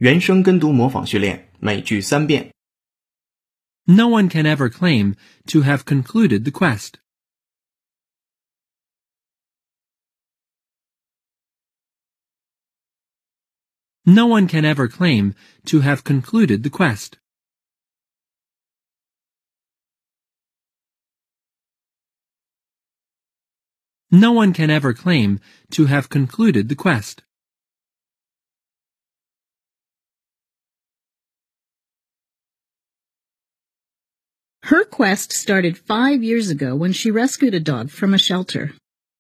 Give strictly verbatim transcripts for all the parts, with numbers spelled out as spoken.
原声跟读模仿训练，每句三遍。 No one can ever claim to have concluded the quest. No one can ever claim to have concluded the quest. No one can ever claim to have concluded the quest. Her quest started five years ago when she rescued a dog from a shelter.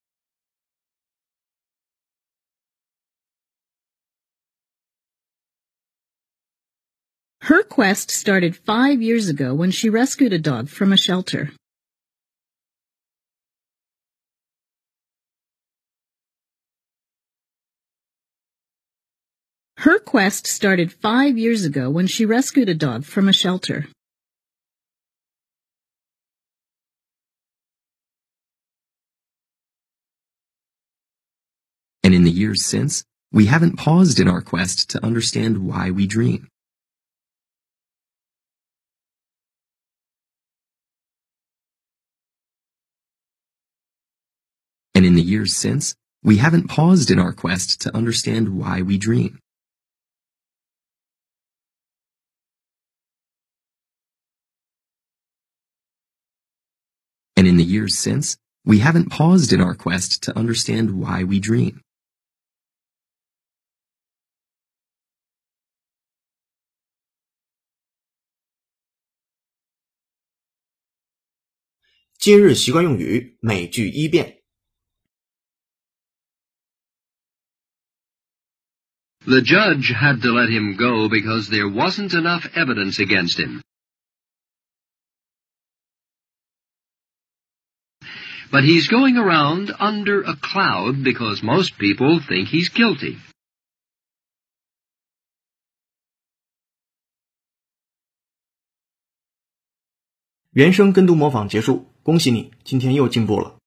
Her quest started five years ago when she rescued a dog from a shelter. Her quest started five years ago when she rescued a dog from a shelter. And in the years since, we haven't paused in our quest to understand why we dream. And in the years since, we haven't paused in our quest to understand why we dream. And in the years since, we haven't paused in our quest to understand why we dream. 《今日习惯用语》每句一遍。 The judge had to let him go because there wasn't enough evidence against him. But he's going around under a cloud because most people think he's guilty. 原声跟读模仿结束，恭喜你，今天又进步了。